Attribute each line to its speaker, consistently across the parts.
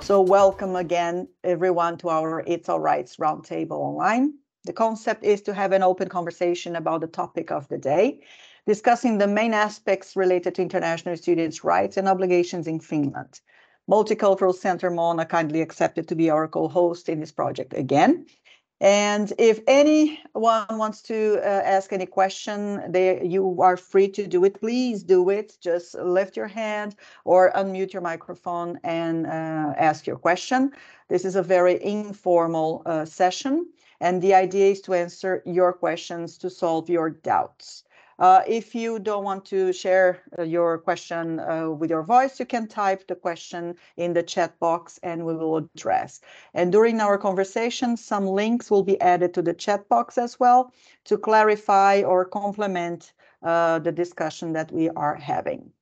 Speaker 1: So welcome again, everyone, to our It's All Rights Roundtable Online. The concept is to have an open conversation about the topic of the day, discussing the main aspects related to international students' rights and obligations in Finland. Multicultural Center Mona kindly accepted to be our co-host in this project again. And if anyone wants to ask any question, you are free to do it. Please do it. Just lift your hand or unmute your microphone and ask your question. This is a very informal session, and the idea is to answer your questions to solve your doubts. If you don't want to share your question with your voice, you can type the question in the chat box and we will address. And during our conversation, some links will be added to the chat box as well to clarify or complement the discussion that we are having.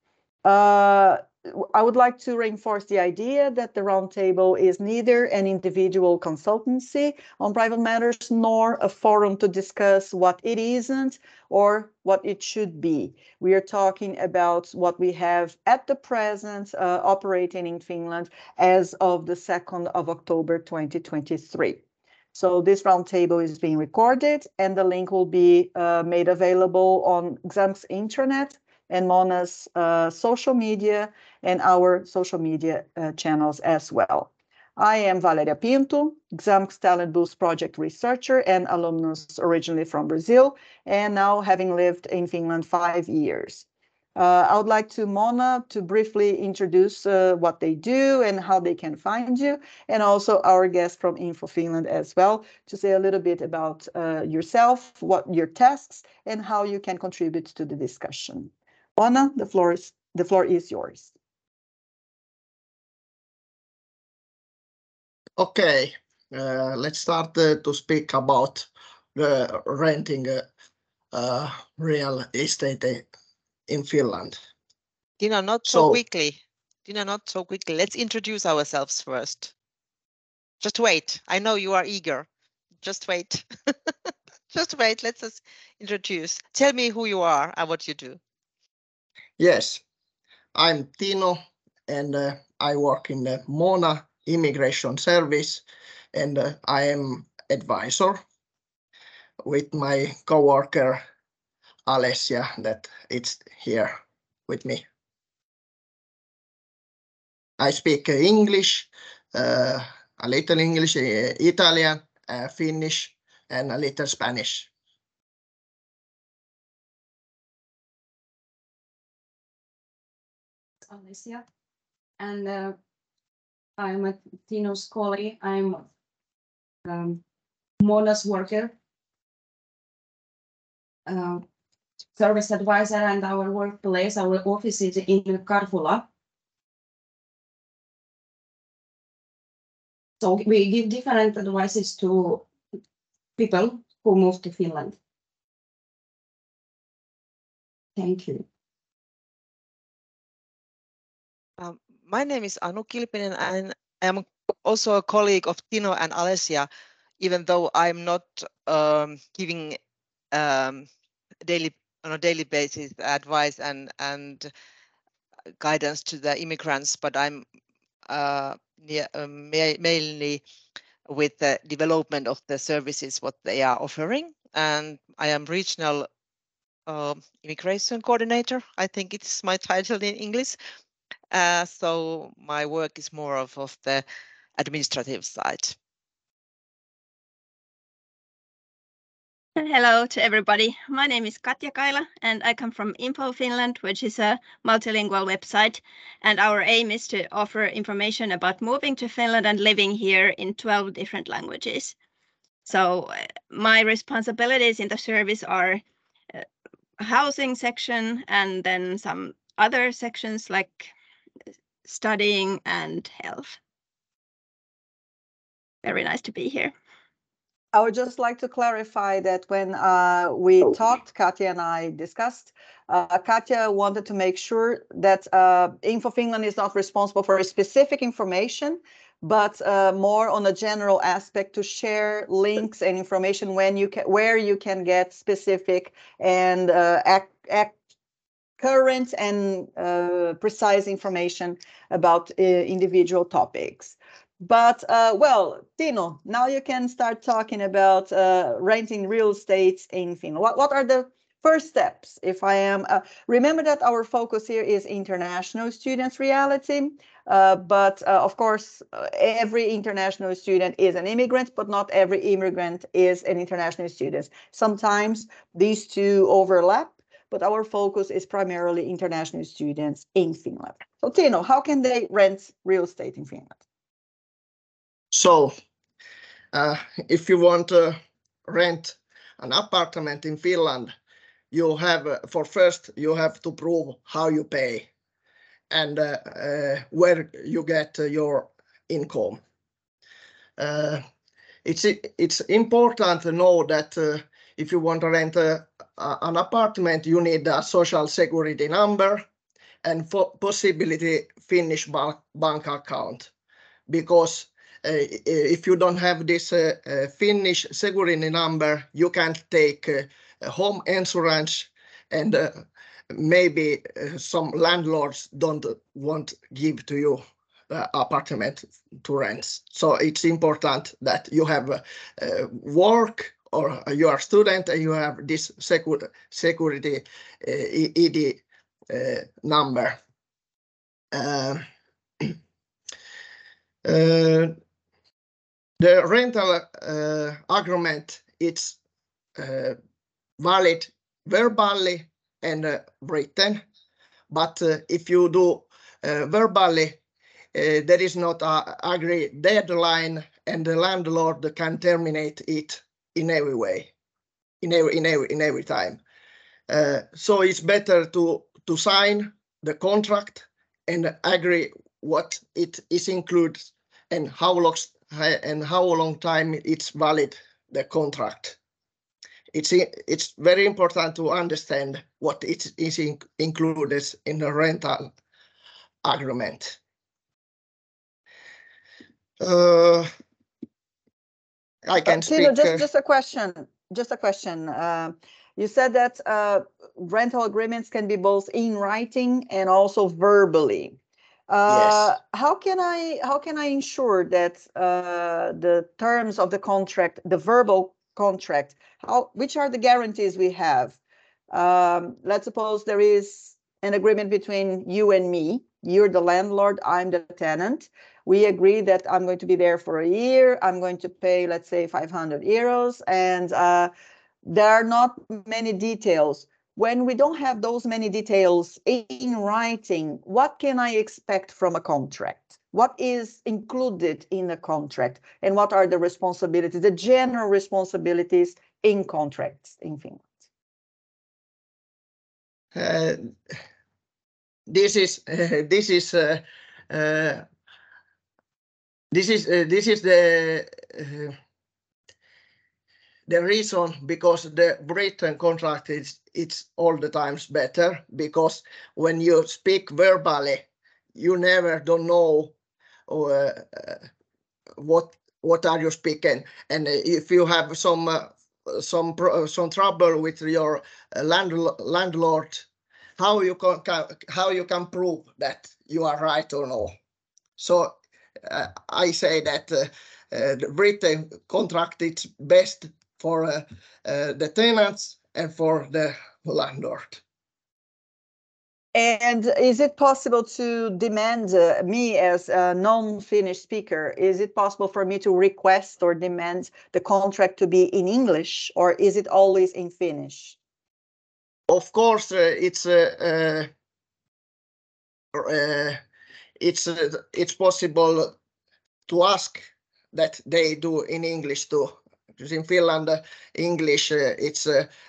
Speaker 1: I would like to reinforce the idea that the Roundtable is neither an individual consultancy on private matters nor a forum to discuss what it isn't or what it should be. We are talking about what we have at the present operating in Finland as of the 2nd of October 2023. So this Roundtable is being recorded and the link will be made available on XAMK's intranet and Mona's social media and our social media channels as well. I am Valeria Pinto, XAMK's Talent Boost Project researcher and alumnus originally from Brazil, and now having lived in Finland 5 years. I would like to Mona to briefly introduce what they do and how they can find you, and also our guest from Info Finland as well, to say a little bit about yourself, what your tasks, and how you can contribute to the discussion. Mona, the floor is yours.
Speaker 2: Okay, let's start to speak about the renting real estate in Finland.
Speaker 3: Dina, not so quickly. Dina, not so quickly. Let's introduce ourselves first. Just wait. I know you are eager. Just wait. Just wait. Let's just introduce. Tell me who you are and what you do.
Speaker 2: Yes, I'm Tino and I work in the Mona Immigration Service and I am advisor with my coworker Alessia that it's here with me. I speak English, a little English, Italian, Finnish, and a little Spanish.
Speaker 4: Alessia, and I'm a Tino's colleague. I'm Mona's worker, service advisor, and our workplace, our office is in Karhula. So we give different advices to people who move to Finland. Thank you.
Speaker 3: My name is Anu Kilpinen and I am also a colleague of Tino and Alessia, even though I'm not giving on a daily basis advice and guidance to the immigrants, but I'm mainly with the development of the services what they are offering, and I am regional immigration coordinator. I think it's my title in English. So my work is more of the administrative side.
Speaker 5: Hello to everybody. My name is Katja Kaila and I come from Info Finland, which is a multilingual website. And our aim is to offer information about moving to Finland and living here in 12 different languages. So my responsibilities in the service are housing section and then some other sections like studying and health. Very nice to be here.
Speaker 1: I would just like to clarify that when we talked, Katja and I discussed, Katja wanted to make sure that Info Finland is not responsible for a specific information, but more on a general aspect to share links and information where you can get specific and current and precise information about individual topics. But well, Tino, now you can start talking about renting real estate in Finland. What are the first steps? If I am, remember that our focus here is international students' reality, but of course, every international student is an immigrant, but not every immigrant is an international student. Sometimes these two overlap, but our focus is primarily international students in Finland. So Tino, how can they rent real estate in Finland?
Speaker 2: So if you want to rent an apartment in Finland, you have you have to prove how you pay and where you get your income. It's important to know that if you want to rent an apartment, you need a social security number and possibility Finnish bank account, because if you don't have this Finnish security number, you can't take home insurance, and maybe some landlords don't want give to you apartment to rent. So it's important that you have work or you are a student and you have this security ID number. The rental agreement, it's valid verbally and written, but if you do verbally, there is not an agreed deadline, and the landlord can terminate it in every way, in every time. So it's better to sign the contract and agree what it is included and how long time it's valid, the contract. It's very important to understand what it is included in the rental agreement. I can speak.
Speaker 1: Tino, just a question. You said that rental agreements can be both in writing and also verbally.
Speaker 2: Yes.
Speaker 1: How can I ensure that the terms of the contract, the verbal contract, which are the guarantees we have? Let's suppose there is an agreement between you and me. You're the landlord, I'm the tenant. We agree that I'm going to be there for a year. I'm going to pay, let's say, 500 euros, and there are not many details. When we don't have those many details in writing, what can I expect from a contract? What is included in the contract, and what are the responsibilities, the general responsibilities in contracts in Finland?
Speaker 2: This is the reason, because the written contract it's all the times better, because when you speak verbally, you never don't know what are you speaking, and if you have some trouble with your landlord, how you can prove that you are right or no. So I say that the written contract is best for the tenants and for the landlord.
Speaker 1: And is it possible to demand me as a non-Finnish speaker? Is it possible for me to request or demand the contract to be in English, or is it always in Finnish?
Speaker 2: Of course, it's possible to ask that they do in English too. Because in Finland, English it's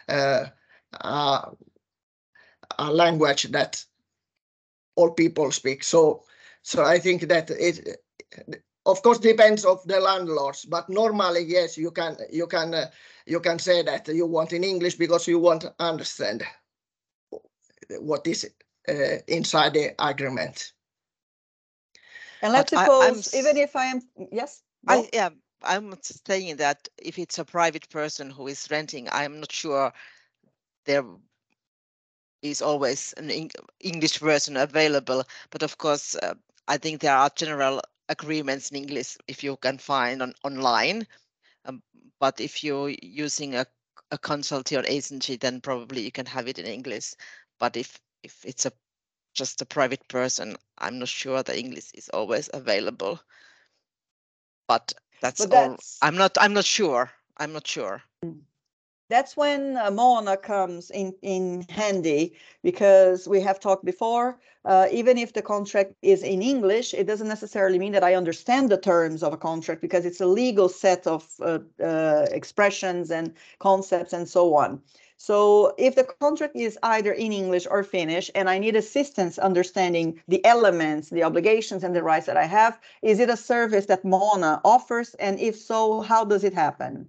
Speaker 2: a language that all people speak. So I think that it, of course, depends of the landlords. But normally, yes, you can say that you want in English because you want to understand what is inside the agreement.
Speaker 1: And let's suppose, even if I am, yes.
Speaker 3: I'm saying that if it's a private person who is renting, I'm not sure is always an English version available. But of course, I think there are general agreements in English if you can find online. But if you're using a consultancy or agency, then probably you can have it in English. But if it's just a private person, I'm not sure the English is always available. But that's all. I'm not sure. I'm not sure.
Speaker 1: That's when Moana comes in handy, because we have talked before, even if the contract is in English, it doesn't necessarily mean that I understand the terms of a contract, because it's a legal set of expressions and concepts and so on. So if the contract is either in English or Finnish, and I need assistance understanding the elements, the obligations and the rights that I have, is it a service that Moana offers? And if so, how does it happen?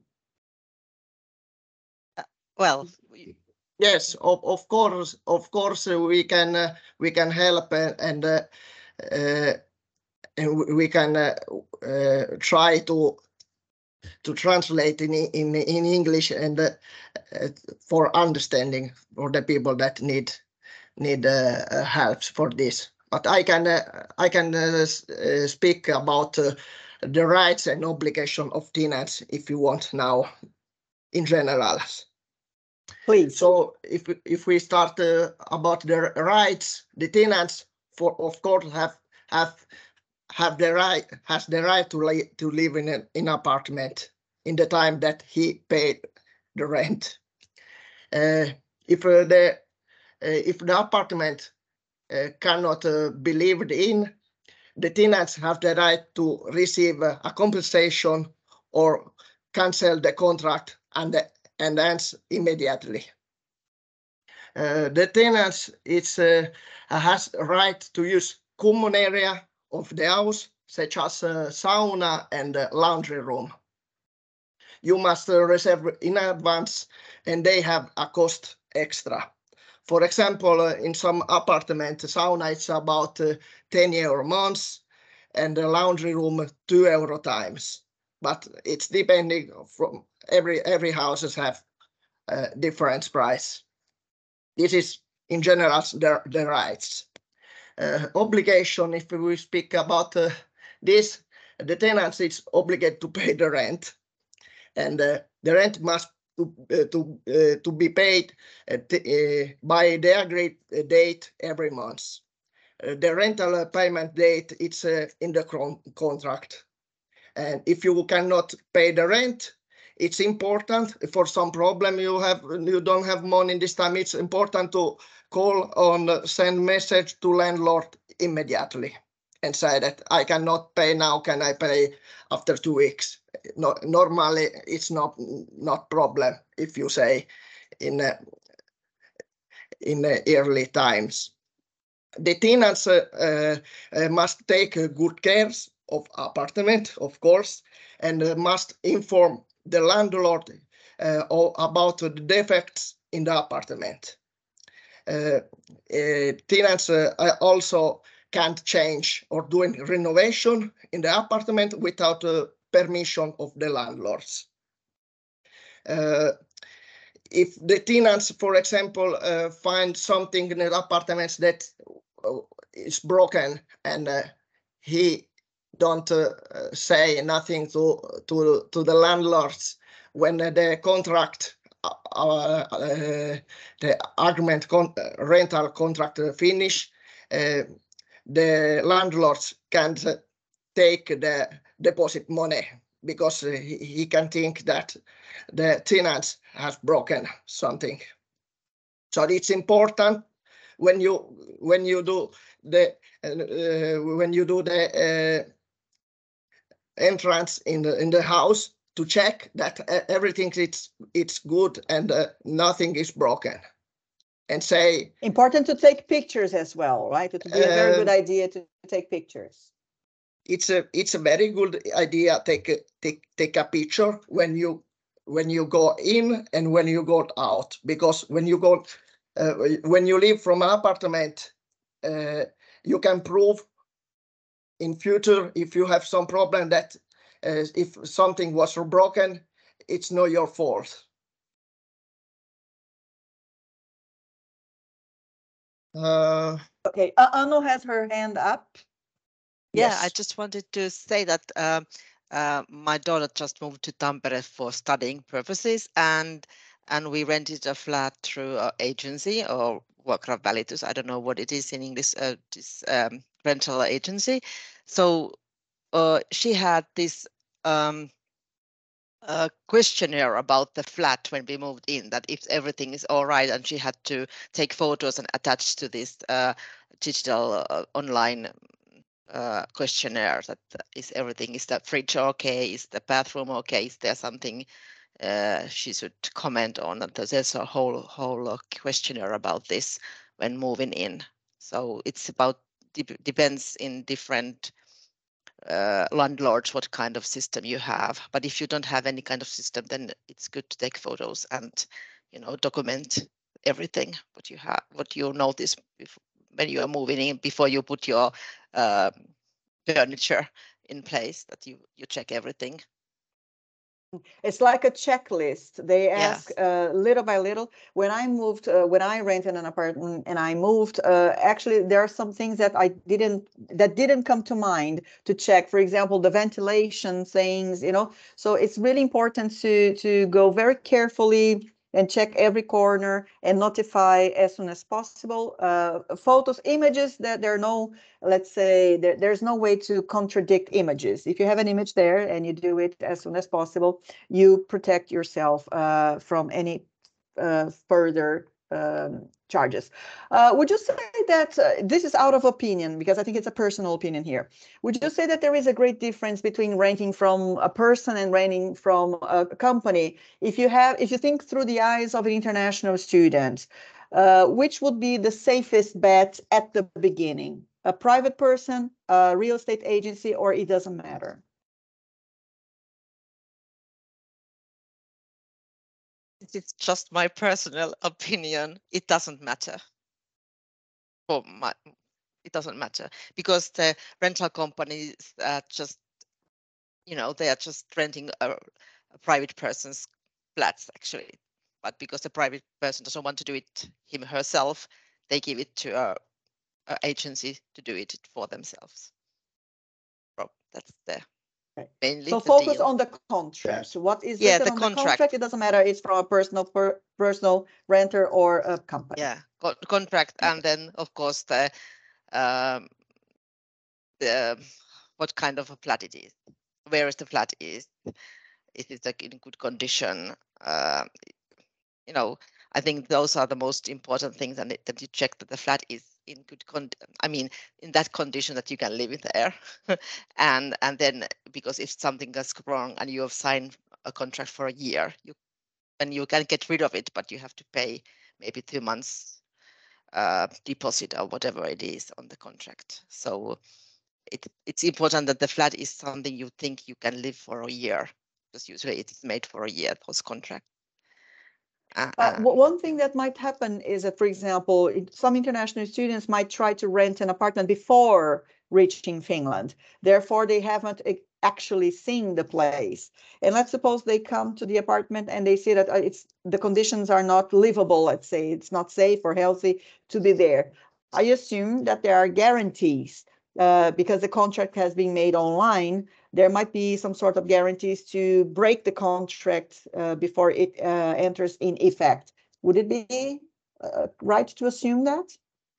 Speaker 3: Well,
Speaker 2: yes, of course, we can help, and we can try to translate in English, and for understanding for the people that need help for this. But I can speak about the rights and obligation of tenants if you want now in general.
Speaker 1: Please.
Speaker 2: So if we start about the rights, the tenants of course has the right to live in an apartment in the time that he paid the rent. If the apartment cannot be lived in, the tenants have the right to receive a compensation or cancel the contract and ends immediately. The tenants has a right to use common area of the house, such as sauna and laundry room. You must reserve in advance, and they have a cost extra. For example, in some apartment, sauna is about 10 euro months, and the laundry room 2 euro times. But it's depending from every houses have different price. This is in general the rights. Obligation, if we speak about this, the tenant is obligated to pay the rent, and the rent must to be paid by the agreed date every month. The rental payment date it's in the contract, and if you cannot pay the rent, it's important for some problem you don't have money this time. It's important to call on send message to landlord immediately and say that I cannot pay now. Can I pay after 2 weeks? No, normally it's not problem if you say in early times. The tenants must take good care of apartment, of course, and must inform the landlord about the defects in the apartment. Tenants also can't change or do renovation in the apartment without permission of the landlords. If the tenants, for example, find something in the apartments that is broken, and he don't say nothing to the landlords when the contract, the agreement rental contract finish, the landlords can't take the deposit money, because he can think that the tenants have broken something. So it's important when you do the entrance in the house to check that everything it's good and nothing is broken, and say
Speaker 1: important to take pictures as well, right? It would be a very good idea to take pictures.
Speaker 2: It's a very good idea. Take a picture when you go in and when you go out, because when you leave from an apartment, you can prove in future if you have some problem that if something was broken, it's not your fault.
Speaker 1: Okay, Anu has her hand up.
Speaker 3: Yeah,
Speaker 2: Yes.
Speaker 3: I just wanted to say that my daughter just moved to Tampere for studying purposes, and we rented a flat through an agency or vuokravälitys. I don't know what it is in English. This rental agency. So she had this questionnaire about the flat when we moved in, that if everything is all right, and she had to take photos and attach to this digital online questionnaire that is the fridge okay, is the bathroom okay, is there something she should comment on. And there's a whole questionnaire about this when moving in. So it's about depends in different landlords what kind of system you have. But if you don't have any kind of system, then it's good to take photos and document everything what you notice when you are moving in, before you put your furniture in place, that you check everything.
Speaker 1: It's like a checklist. They ask
Speaker 3: Yes.
Speaker 1: little by little. When I moved, when I rented an apartment and I moved, actually there are some things that didn't come to mind to check. For example, the ventilation things, So it's really important to go very carefully and check every corner and notify as soon as possible. Photos, images, that there are no, let's say, there's no way to contradict images. If you have an image there and you do it as soon as possible, you protect yourself from any further charges. Would you say that this is out of opinion, because I think it's a personal opinion here. Would you say that there is a great difference between renting from a person and renting from a company? If you think through the eyes of an international student, which would be the safest bet at the beginning? A private person, a real estate agency, or it doesn't matter?
Speaker 3: It's just my personal opinion. It doesn't matter. It doesn't matter, because the rental companies just, they are just renting a private person's flats actually. But because the private person doesn't want to do it him herself, they give it to a agency to do it for themselves. So that's mainly
Speaker 1: So
Speaker 3: the
Speaker 1: focus
Speaker 3: deal.
Speaker 1: on the contract.
Speaker 2: Yes.
Speaker 1: What is
Speaker 3: Yeah,
Speaker 1: written
Speaker 3: the
Speaker 1: on
Speaker 3: contract.
Speaker 1: the contract? It doesn't matter. It's from a personal renter or a company.
Speaker 3: Yeah, contract, and then of course the what kind of a flat it is, where is the flat is it like in good condition. I think those are the most important things, and that you check that the flat is in good in that condition that you can live in there. and then, because if something goes wrong and you have signed a contract for a year, you can get rid of it, but you have to pay maybe 2 months deposit or whatever it is on the contract. So it's important that the flat is something you think you can live for a year, because usually it's made for a year, those contracts.
Speaker 1: One thing that might happen is that, for example, some international students might try to rent an apartment before reaching Finland. Therefore, they haven't actually seen the place. And let's suppose they come to the apartment and they see that the conditions are not livable. Let's say it's not safe or healthy to be there. I assume that there are guarantees because the contract has been made online. There might be some sort of guarantees to break the contract before it enters in effect. Would it be right to assume that?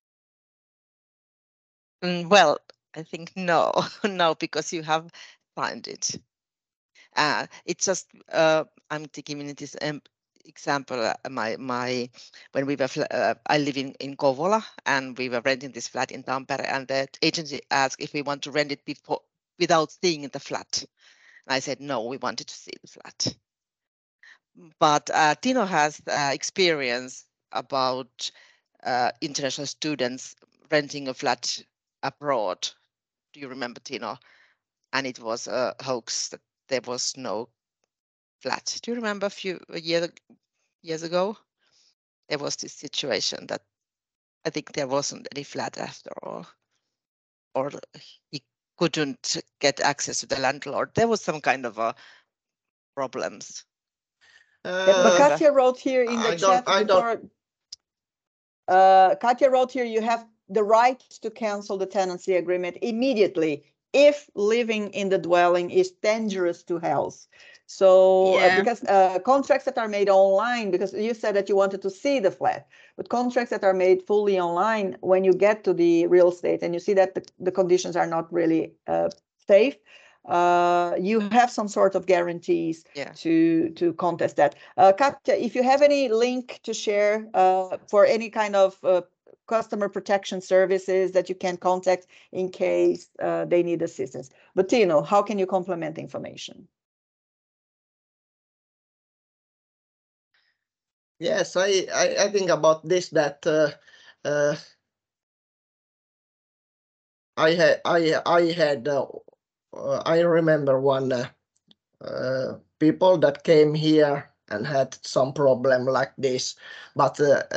Speaker 3: Well, I think no, no, because you have signed it. It's just I'm giving this example. When we were I live in Kouvola, and we were renting this flat in Tampere, and the agency asked if we want to rent it without seeing the flat. And I said no, we wanted to see the flat. But Tino has experience about international students renting a flat abroad. Do you remember, Tino? And it was a hoax that there was no flat. Do you remember a few years ago? There was this situation that I think there wasn't any flat after all, or he couldn't get access to the landlord. There was some kind of problems.
Speaker 1: But Katja wrote here in the chat Katja wrote here, you have the right to cancel the tenancy agreement immediately if living in the dwelling is dangerous to health. So because contracts that are made online, because you said that you wanted to see the flat, but contracts that are made fully online, when you get to the real estate and you see that the conditions are not really safe, you have some sort of guarantees to contest that. Katja, if you have any link to share for any kind of customer protection services that you can contact in case they need assistance. But Tino, how can you complement information?
Speaker 2: Yes, I think about this, that I remember one people that came here and had some problem like this, but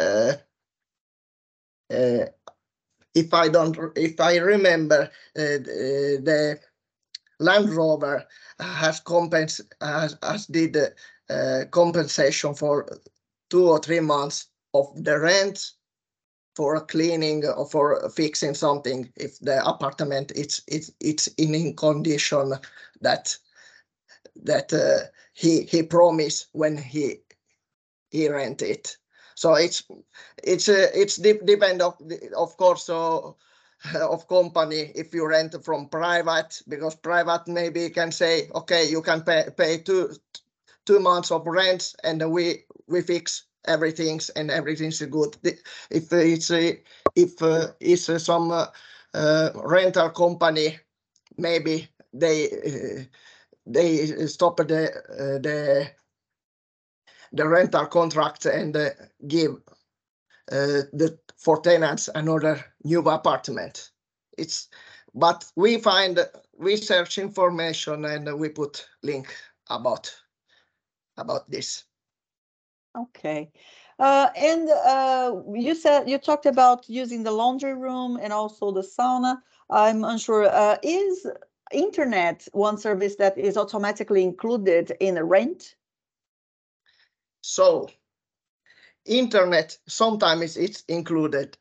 Speaker 2: if I remember, the Land Rover has did compensation for 2 or 3 months of the rent for cleaning or for fixing something if the apartment it's in condition that he promised when he rent it. So it's depend of course of company. If you rent from private, because private maybe can say, okay, you can pay 2 months of rent and we fix everything and everything's good. If it's some rental company, maybe they stop the rental contract and give for tenants another new apartment. But we find research information and we put link about this.
Speaker 1: Okay. And you talked about using the laundry room and also the sauna. I'm unsure, is internet one service that is automatically included in the rent?
Speaker 2: So internet sometimes it's included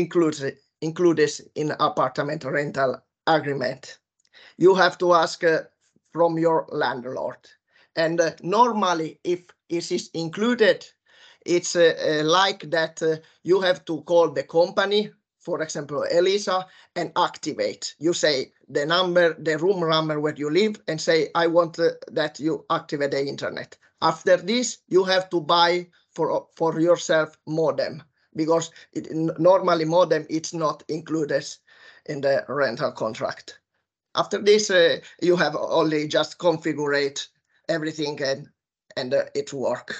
Speaker 2: in apartment rental agreement. You have to ask from your landlord, and normally if it is included, it's like that you have to call the company, for example Elisa, and activate. You say the room number where you live and say, I want that you activate the internet. After this you have to buy for yourself modem, because normally modem it's not included in the rental contract. After this you have only just configure everything and it work.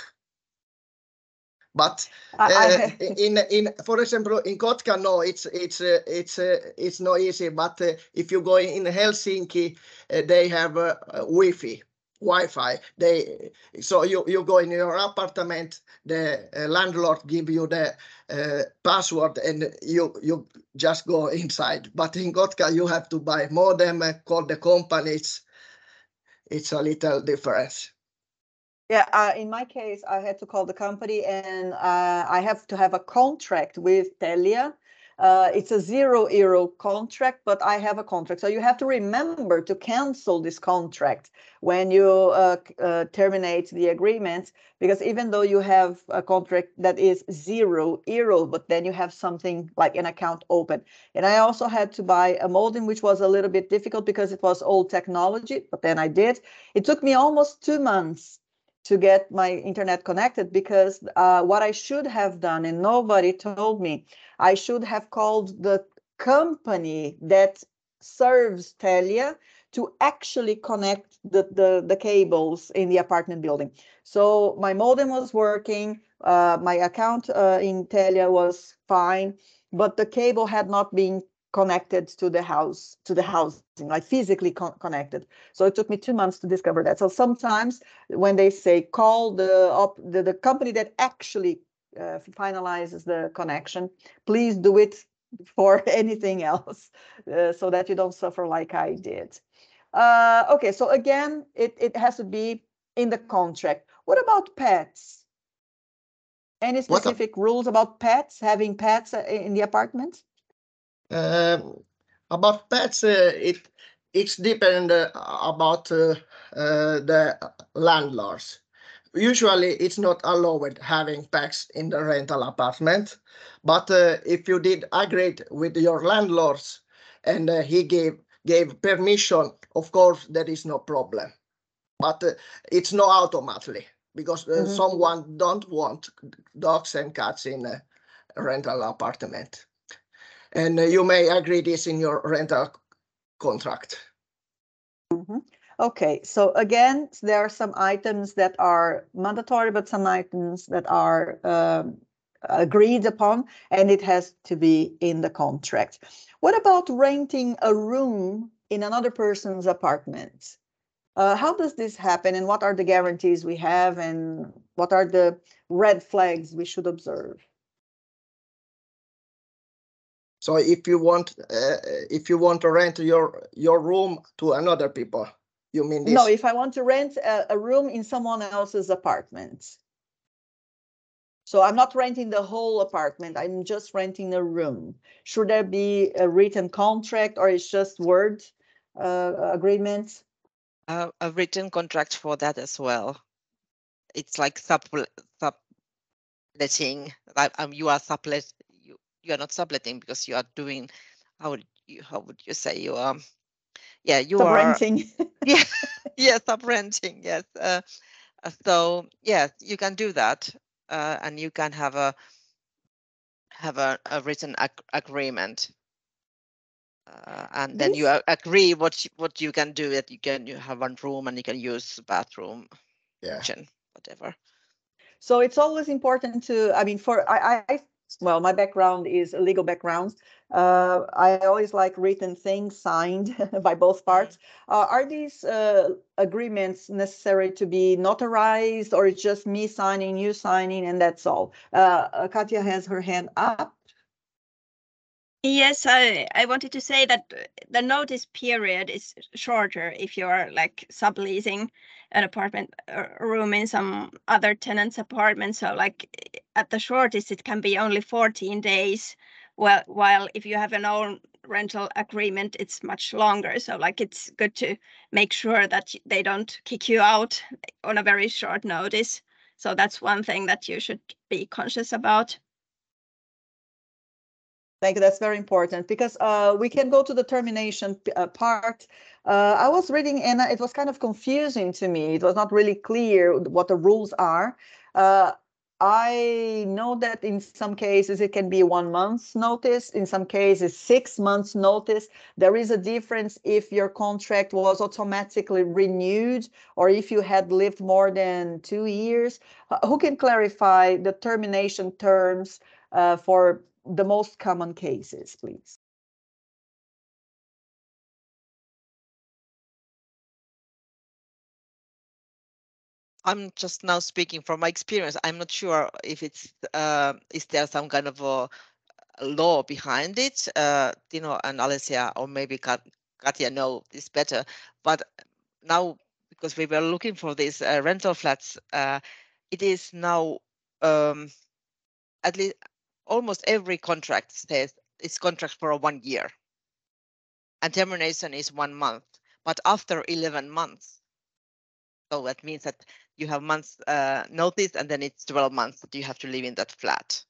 Speaker 2: But in for example in Kotka, no, it's not easy. But if you go in Helsinki, they have Wi-Fi. So you go in your apartment, the landlord give you the password and you just go inside. But in Kotka you have to buy modem, call the company. It's a little difference.
Speaker 1: Yeah, in my case, I had to call the company and I have to have a contract with Telia. It's a 0 euro contract, but I have a contract. So you have to remember to cancel this contract when you terminate the agreement, because even though you have a contract that is 0 euro, but then you have something like an account open. And I also had to buy a modem, which was a little bit difficult because it was old technology, but then I did. It took me almost 2 months to get my internet connected, because what I should have done, and nobody told me, I should have called the company that serves Telia to actually connect the cables in the apartment building. So my modem was working, my account in Telia was fine, but the cable had not been connected to the housing, like physically connected. So it took me 2 months to discover that. So sometimes when they say call the company that actually finalizes the connection, please do it for anything else so that you don't suffer like I did. Okay, so again, it has to be in the contract. What about pets? Any specific rules about pets, having pets in the apartment?
Speaker 2: About pets, it's depend about the landlords. Usually, it's not allowed having pets in the rental apartment, but if you did agree with your landlords and he gave permission, of course, there is no problem. But it's not automatically because someone don't want dogs and cats in a rental apartment. And you may agree this in your rental contract.
Speaker 1: Okay, so again, there are some items that are mandatory, but some items that are agreed upon, and it has to be in the contract. What about renting a room in another person's apartment? How does this happen, and what are the guarantees we have, and what are the red flags we should observe?
Speaker 2: So if you want to rent your room to another people, you mean this?
Speaker 1: No, if I want to rent a room in someone else's apartment. So I'm not renting the whole apartment, I'm just renting a room. Should there be a written contract, or it's just word agreement?
Speaker 3: A written contract for that as well. It's like subletting. You are sublet. You are not subletting because you are doing. How would you say you are? Yeah, you
Speaker 1: Sub-renting.
Speaker 3: Yeah, yeah, sub-renting. Yes. So yes, you can do that, and you can have a written agreement. And then you agree what you can do. That you have one room and you can use bathroom, kitchen, whatever.
Speaker 1: So it's always important to. I mean, well, my background is a legal background. I always like written things signed by both parts. Are these agreements necessary to be notarized, or it's just me signing, you signing, and that's all? Katja has her hand up.
Speaker 5: Yes, I wanted to say that the notice period is shorter if you're like subleasing an apartment room in some other tenant's apartment. So like at the shortest, it can be only 14 days. While if you have an own rental agreement, it's much longer. So like it's good to make sure that they don't kick you out on a very short notice. So that's one thing that you should be conscious about.
Speaker 1: Thank you. That's very important because we can go to the termination part. I was reading and it was kind of confusing to me. It was not really clear what the rules are. I know that in some cases it can be 1 month's notice, in some cases 6 months notice. There is a difference if your contract was automatically renewed or if you had lived more than 2 years. Who can clarify the termination terms for the most common cases, please?
Speaker 3: I'm just now speaking from my experience. I'm not sure if it's is there some kind of a law behind it. Tino and Alessia, or maybe Katja know this better. But now, because we were looking for these rental flats, it is now at least almost every contract says it's contract for 1 year, and termination is 1 month. But after 11 months, so that means that you have months notice, and then it's 12 months that you have to live in that flat.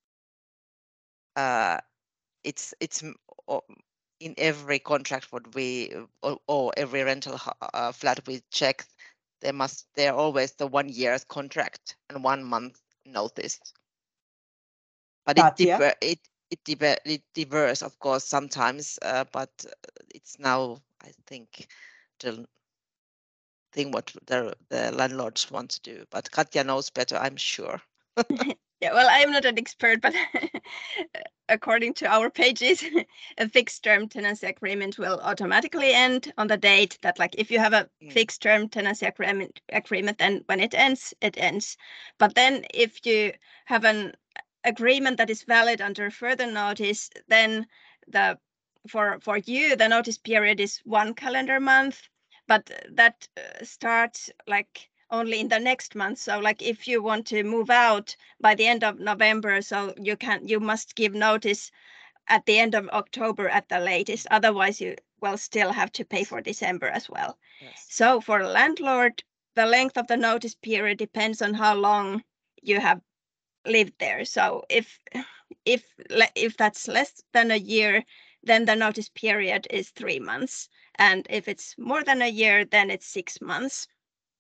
Speaker 3: It's in every contract what we or every rental flat we check, they're always the 1 year's contract and 1 month notice. But it differs, of course, sometimes. But it's now, I think, the thing what the landlords want to do. But Katja knows better, I'm sure.
Speaker 5: Yeah, well, I'm not an expert, but according to our pages, a fixed term tenancy agreement will automatically end on the date that, like, if you have a fixed term tenancy agreement, then when it ends, it ends. But then if you have an agreement that is valid under further notice, then for you, the notice period is 1 calendar month, but that starts like only in the next month. So like if you want to move out by the end of November, so you must give notice at the end of October at the latest. Otherwise you will still have to pay for December as well.
Speaker 3: Yes.
Speaker 5: So for a landlord, the length of the notice period depends on how long you have lived there. So if that's less than a year, then the notice period is 3 months. And if it's more than a year, then it's 6 months.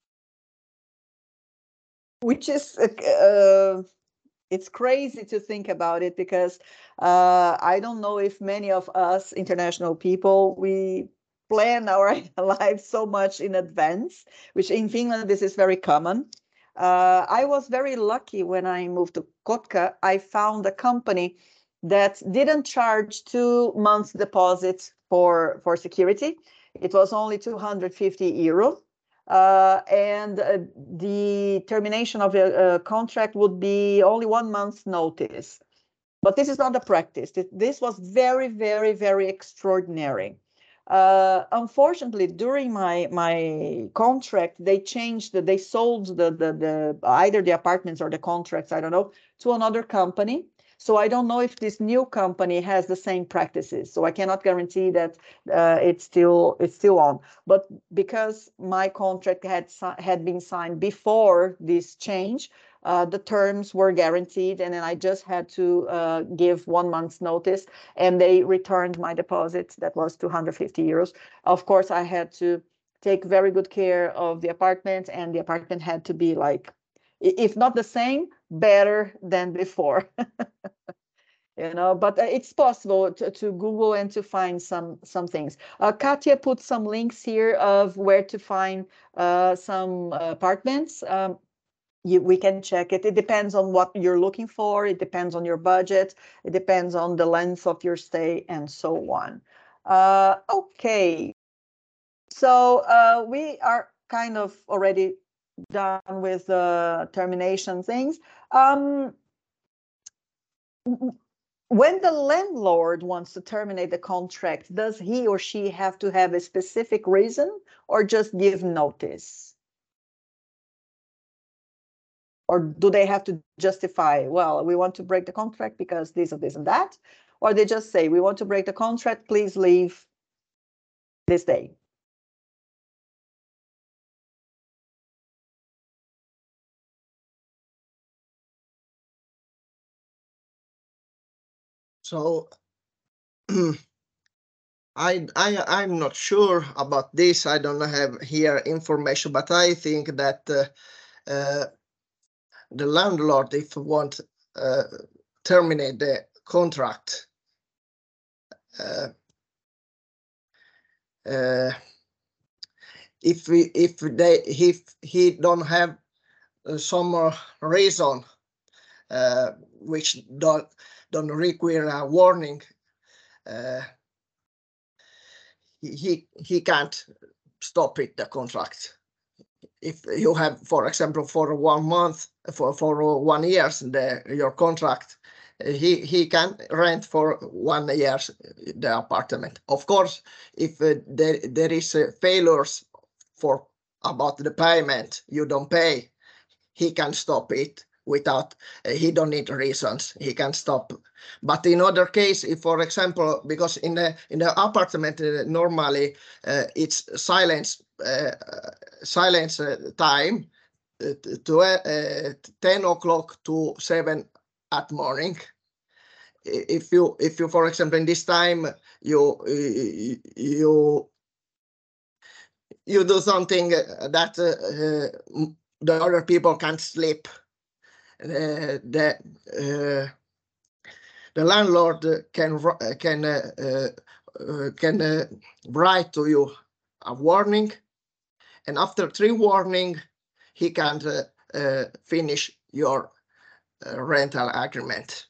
Speaker 1: Which is it's crazy to think about it, because I don't know if many of us international people, we plan our lives so much in advance, which in Finland this is very common. I was very lucky when I moved to Kotka. I found a company that didn't charge 2 months deposit for security. It was only 250 euro. And the termination of a contract would be only 1 month's notice. But this is not the practice. This was very, very, very extraordinary. Unfortunately, during my contract, they sold either the apartments or the contracts, I don't know, to another company. So I don't know if this new company has the same practices. So I cannot guarantee that it's still on. But because my contract had been signed before this change, the terms were guaranteed, and then I just had to give 1 month's notice, and they returned my deposit. That was 250 euros. Of course, I had to take very good care of the apartment, and the apartment had to be like, if not the same, better than before. But it's possible to Google and to find some things. Katja put some links here of where to find some apartments. We can check it. It depends on what you're looking for. It depends on your budget. It depends on the length of your stay and so on. Okay. So we are kind of already done with the termination things. When the landlord wants to terminate the contract, does he or she have to have a specific reason or just give notice? Or do they have to justify, well, we want to break the contract because this or this and that? Or they just say, we want to break the contract, please leave this day?
Speaker 2: So I'm not sure about this. I don't have here information, but I think that the landlord, if want terminate the contract, if he don't have some reason which don't require a warning, he can't stop it, the contract. If you have, for example, for 1 month, for 1 year, your contract, he can rent for 1 year the apartment. Of course, if there is failures about the payment, you don't pay, he can stop it without, he don't need reasons, he can stop. But in other case, if, for example, because in the apartment normally it's silence time to 10 o'clock to 7 at morning. If you for example in this time you do something that the other people can't sleep, the landlord can write to you a warning, and after 3 warning he can finish your rental agreement.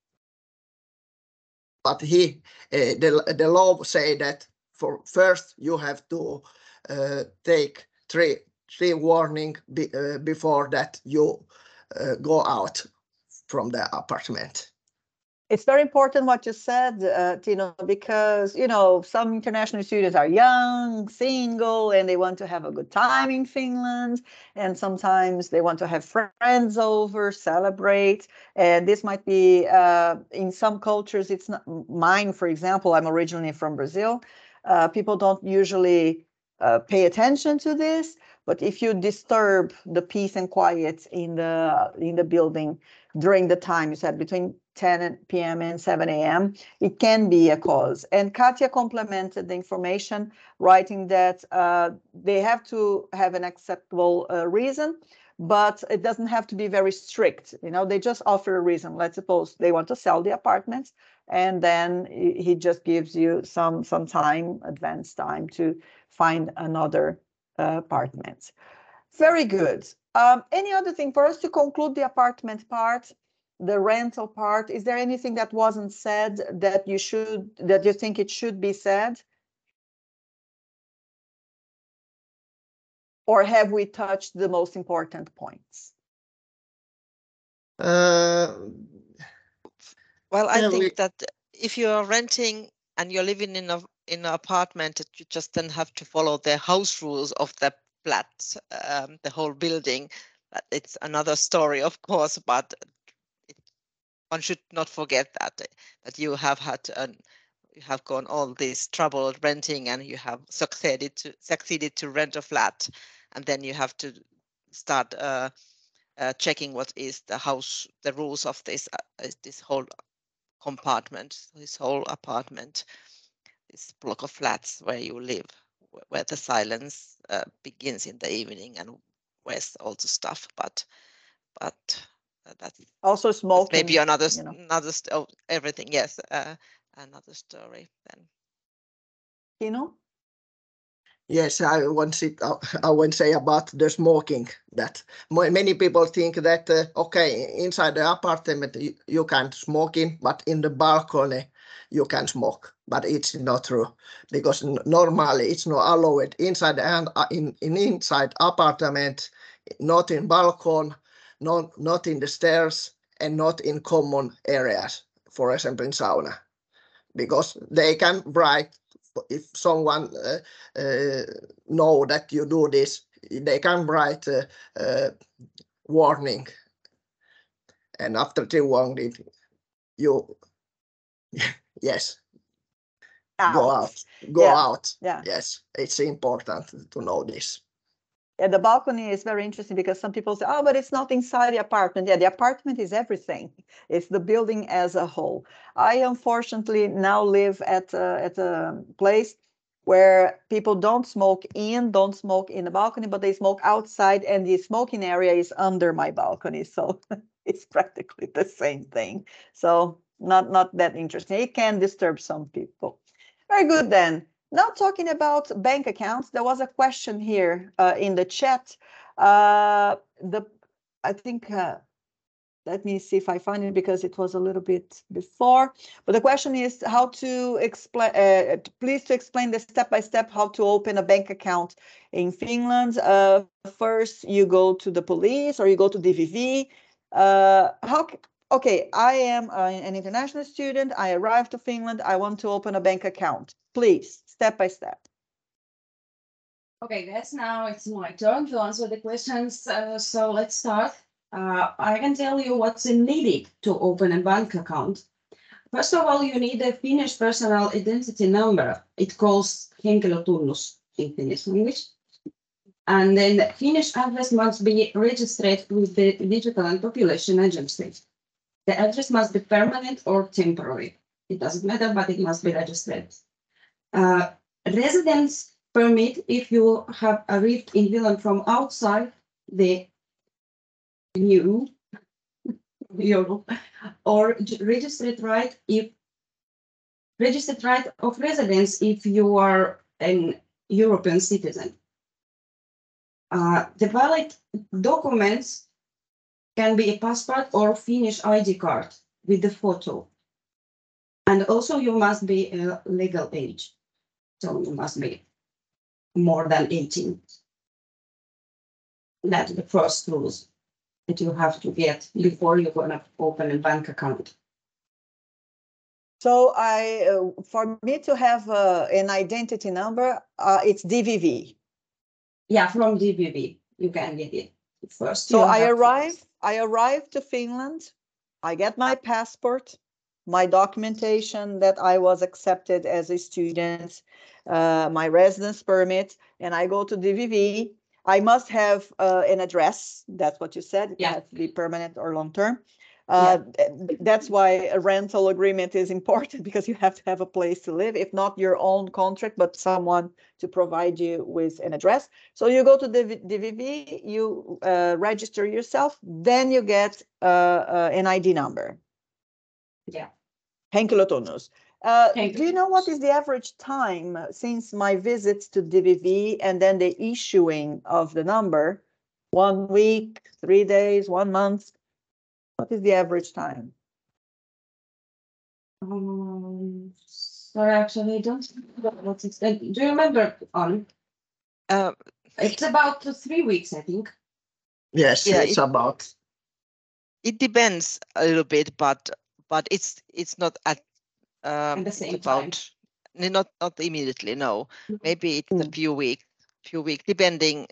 Speaker 2: But the law say that first you have to take 3 warning before that you go out from the apartment.
Speaker 1: It's very important what you said, Tino, because, you know, some international students are young, single, and they want to have a good time in Finland. And sometimes they want to have friends over, celebrate. And this might be, in some cultures, it's not mine, for example, I'm originally from Brazil. People don't usually pay attention to this. But if you disturb the peace and quiet in the building during the time you said between 10 p.m. and 7 a.m., it can be a cause. And Katja complemented the information, writing that they have to have an acceptable reason, but it doesn't have to be very strict. You know, they just offer a reason. Let's suppose they want to sell the apartment, and then he just gives you some time, advance time, to find another apartment. Very good. Any other thing for us to conclude the apartment part, the rental part? Is there anything that wasn't said that you think it should be said? Or have we touched the most important points?
Speaker 3: Well, I think that if you are renting and you're living in an apartment, you just then have to follow the house rules of the flat, the whole building. It's another story, of course, but one should not forget that you have you have gone all this trouble renting, and you have succeeded to rent a flat, and then you have to start checking what is the rules of this whole compartment, this whole apartment, this block of flats where you live, where the silence begins in the evening, and where's all the stuff. But that's
Speaker 1: also smoking.
Speaker 3: Maybe another everything. Yes, another story then.
Speaker 1: Tino?
Speaker 2: Yes, I want to say about the smoking that many people think that, okay, inside the apartment you can't smoke in, but in the balcony you can smoke. But it's not true, because normally it's not allowed inside inside apartment, not in balcony, not in the stairs, and not in common areas, for example in sauna, because they can write. If someone know that you do this, they can write warning, and after the warning, you yes, go out.
Speaker 1: Yeah.
Speaker 2: Yes, it's important to know this.
Speaker 1: Yeah, the balcony is very interesting because some people say, oh, but it's not inside the apartment. Yeah, the apartment is everything. It's the building as a whole. I unfortunately now live at a place where people don't smoke in the balcony, but they smoke outside, and the smoking area is under my balcony. So it's practically the same thing. So not that interesting. It can disturb some people. Very good then. Now talking about bank accounts, there was a question here in the chat. I think, let me see if I find it, because it was a little bit before. But the question is how to explain, please to explain the step-by-step how to open a bank account in Finland. First, you go to the police or you go to DVV. Okay, I am an international student. I arrived to Finland. I want to open a bank account. Please, step by step.
Speaker 4: Okay, guys, now it's my turn to answer the questions. So let's start. I can tell you what's needed to open a bank account. First of all, you need a Finnish personal identity number. It calls henkilötunnus in Finnish language. And then the Finnish address must be registered with the Digital and Population Agency. The address must be permanent or temporary. It doesn't matter, but it must be registered. Residence permit if you have arrived in Finland from outside the EU, or registered right of residence if you are an European citizen. The valid documents can be a passport or Finnish ID card with the photo. And also you must be a legal age. So you must be more than 18. That's the first rules that you have to get before you're going to open a bank account.
Speaker 1: So for me to have an identity number, it's DVV.
Speaker 4: Yeah, from DVV, you can get it first.
Speaker 1: So I arrive to Finland. I get my passport, my documentation that I was accepted as a student, my residence permit, and I go to DVV. I must have an address. That's what you said. It has to be permanent or long term. That's why a rental agreement is important, because you have to have a place to live, if not your own contract, but someone to provide you with an address. So you go to the DVV, you register yourself, then you get an ID number.
Speaker 4: Yeah.
Speaker 1: Henkilö tunnus. Do you know what is the average time since my visits to DVV and then the issuing of the number? 1 week, 3 days, 1 month? What is the average time?
Speaker 4: Sorry, actually, I don't know what it's. Do you remember on? It's about 3 weeks, I think.
Speaker 2: Yes,
Speaker 3: Yeah,
Speaker 2: it's about.
Speaker 3: It depends a little bit, but it's not at
Speaker 4: the same
Speaker 3: time. Not immediately. No, maybe it's a few weeks, depending.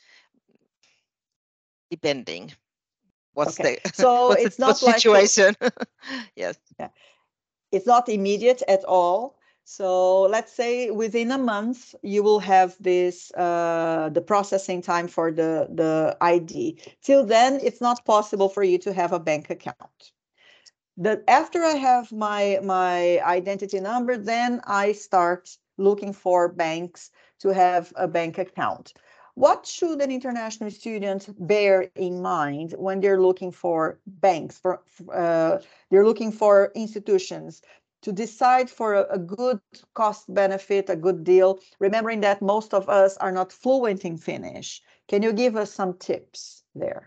Speaker 3: What's
Speaker 1: Okay.
Speaker 3: the
Speaker 1: So
Speaker 3: what's
Speaker 1: it's
Speaker 3: the
Speaker 1: not like
Speaker 3: situation? Yes.
Speaker 1: Yeah. It's not immediate at all. So let's say within a month, you will have this the processing time for the ID. Till then, it's not possible for you to have a bank account. After I have my identity number, then I start looking for banks to have a bank account. What should an international student bear in mind when they're looking for banks? They're looking for institutions to decide for a good cost benefit, a good deal, remembering that most of us are not fluent in Finnish. Can you give us some tips there?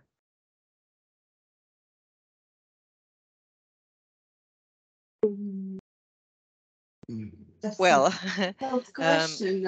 Speaker 3: Well,
Speaker 4: question.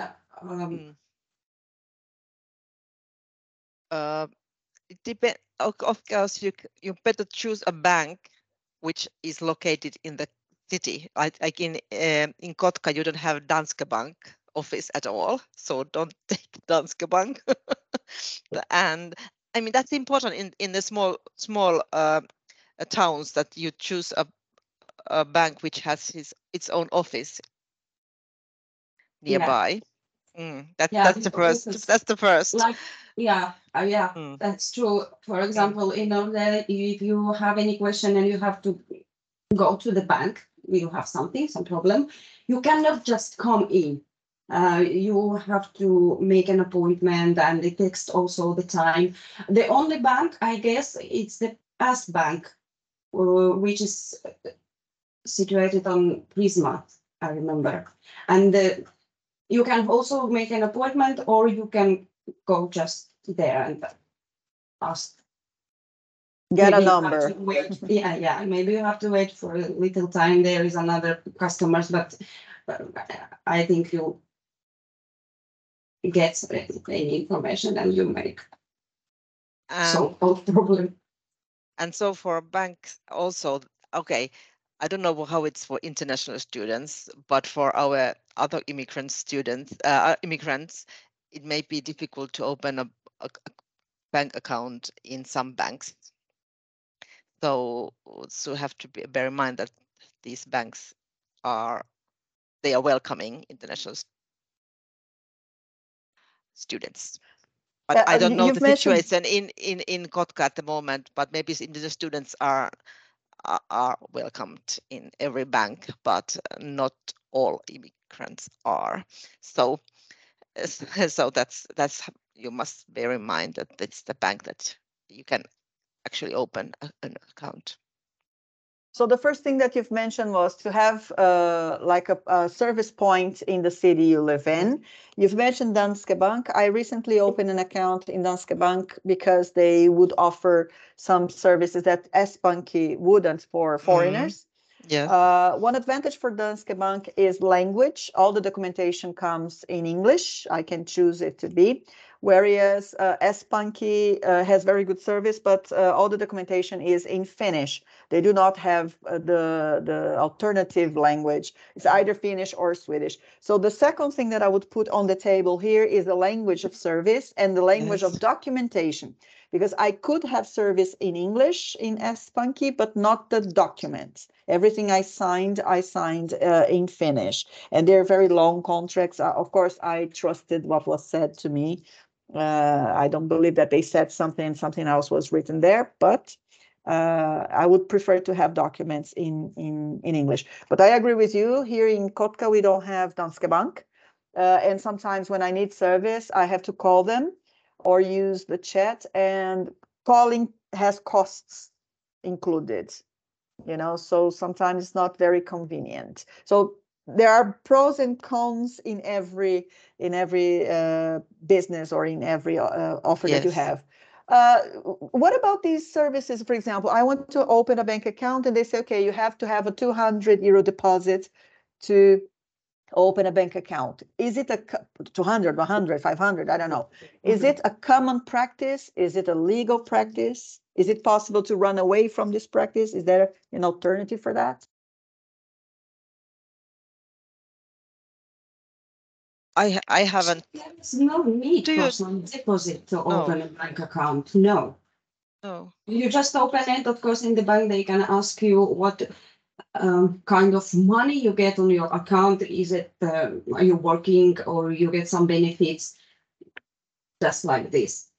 Speaker 3: It depends. Of course, you better choose a bank which is located in the city. Like in Kotka, you don't have Danske Bank office at all, so don't take Danske Bank. And I mean that's important in the small towns, that you choose a bank which has its own office nearby. That's the first. That's the first.
Speaker 4: Like, that's true. For example, in order, if you have any question and you have to go to the bank, you have some problem, you cannot just come in. You have to make an appointment, and it takes also the time. The only bank, I guess, it's the S Bank, which is situated on Prisma, I remember. And you can also make an appointment, or you can go just there and ask.
Speaker 1: Get a number.
Speaker 4: Yeah. Maybe you have to wait for a little time. There is another customers, but I think you get any information and you make solve problem.
Speaker 3: And so for banks also, okay, I don't know how it's for international students, but for our other immigrants, it may be difficult to open a bank account in some banks. So have to bear in mind that these banks are welcoming international students. But I don't know the situation in Kotka at the moment, but maybe the students are welcomed in every bank, but not all immigrants are. So that's you must bear in mind that it's the bank that you can actually open an account.
Speaker 1: So the first thing that you've mentioned was to have like a service point in the city you live in. You've mentioned Danske Bank. I recently opened an account in Danske Bank because they would offer some services that S-Pankki wouldn't for foreigners.
Speaker 3: Yes.
Speaker 1: One advantage for Danske Bank is language. All the documentation comes in English. I can choose it to be. Whereas S-Pankki has very good service, but all the documentation is in Finnish. They do not have the alternative language. It's either Finnish or Swedish. So the second thing that I would put on the table here is the language of service and the language of documentation. Because I could have service in English in S-Pankki, but not the documents. Everything I signed in Finnish. And they're very long contracts. Of course, I trusted what was said to me. I don't believe that they said something and something else was written there, but I would prefer to have documents in English. But I agree with you. Here in Kotka, we don't have Danske Bank. And sometimes when I need service, I have to call them or use the chat, and calling has costs included, you know, so sometimes it's not very convenient. So there are pros and cons in every business or in every offer that you have. What about these services? For example, I want to open a bank account and they say, okay, you have to have a 200 euro deposit to open a bank account. Is it a 200, 100, 500? I don't know. Is it a common practice? Is it a legal practice? Is it possible to run away from this practice? Is there an alternative for that?
Speaker 3: I haven't.
Speaker 4: There's no need for some deposit to open a bank account. No.
Speaker 3: No.
Speaker 4: You just open it. Of course, in the bank, they can ask you what kind of money you get on your account. Is it, are you working or you get some benefits just like this?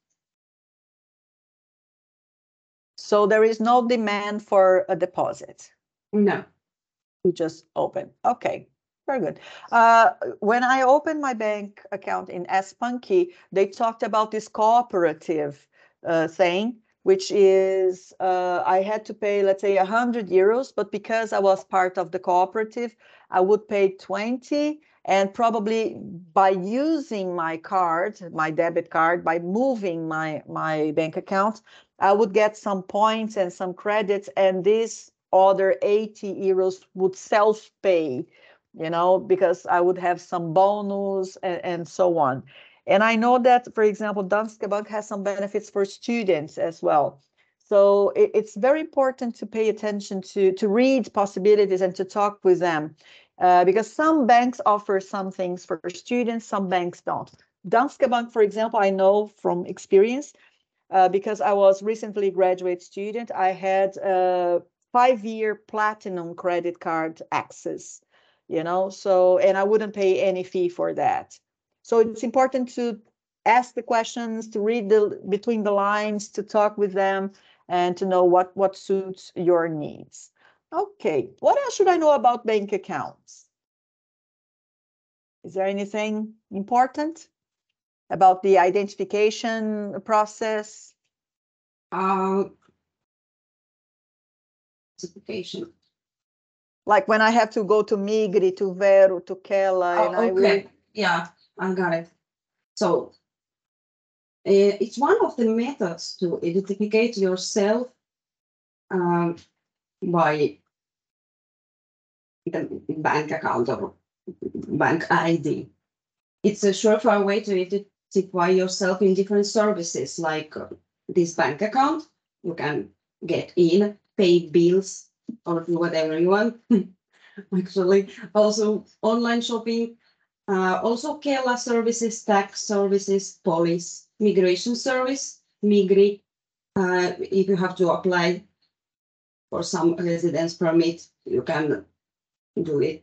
Speaker 1: So there is no demand for a deposit?
Speaker 4: No.
Speaker 1: You just open. Okay, very good. When I opened my bank account in S-Pankki, they talked about this cooperative thing, which is I had to pay, let's say, 100 euros, but because I was part of the cooperative, I would pay 20, and probably by using my card, my debit card, by moving my bank account, I would get some points and some credits, and this other 80 euros would self-pay, you know, because I would have some bonus and so on. And I know that, for example, Danske Bank has some benefits for students as well. So it's very important to pay attention to read possibilities and to talk with them, because some banks offer some things for students, some banks don't. Danske Bank, for example, I know from experience, because I was recently a graduate student, I had a 5-year platinum credit card access, you know, so, and I wouldn't pay any fee for that. So it's important to ask the questions, to read between the lines, to talk with them, and to know what suits your needs. Okay, what else should I know about bank accounts? Is there anything important about the identification process?
Speaker 4: Identification.
Speaker 1: Like when I have to go to Migri, to Veru, to Kela, and I will...
Speaker 4: Yeah, I got it. So it's one of the methods to identify yourself by the bank account or bank ID. It's a surefire way to identify yourself in different services, like this bank account. You can get in, pay bills, or do whatever you want. Actually, also online shopping, also Kela services, tax services, police, migration service, Migri. If you have to apply for some residence permit, you can do it.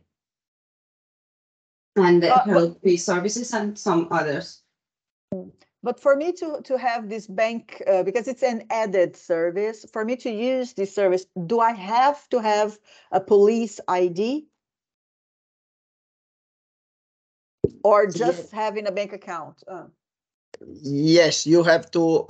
Speaker 4: And help fee services and some others.
Speaker 1: But for me to have this bank, because it's an added service, for me to use this service, do I have to have a police ID? Or just having a bank account?
Speaker 2: Yes, you have to